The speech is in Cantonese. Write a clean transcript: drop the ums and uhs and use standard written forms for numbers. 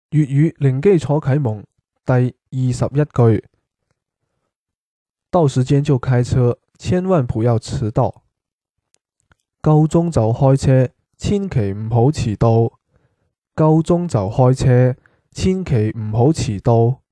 粵語零基礎啟蒙第21句，到時間就開車，千萬不要遲到。夠鐘就開車，千祈唔好遲到。夠鐘就開車，千祈唔好遲到。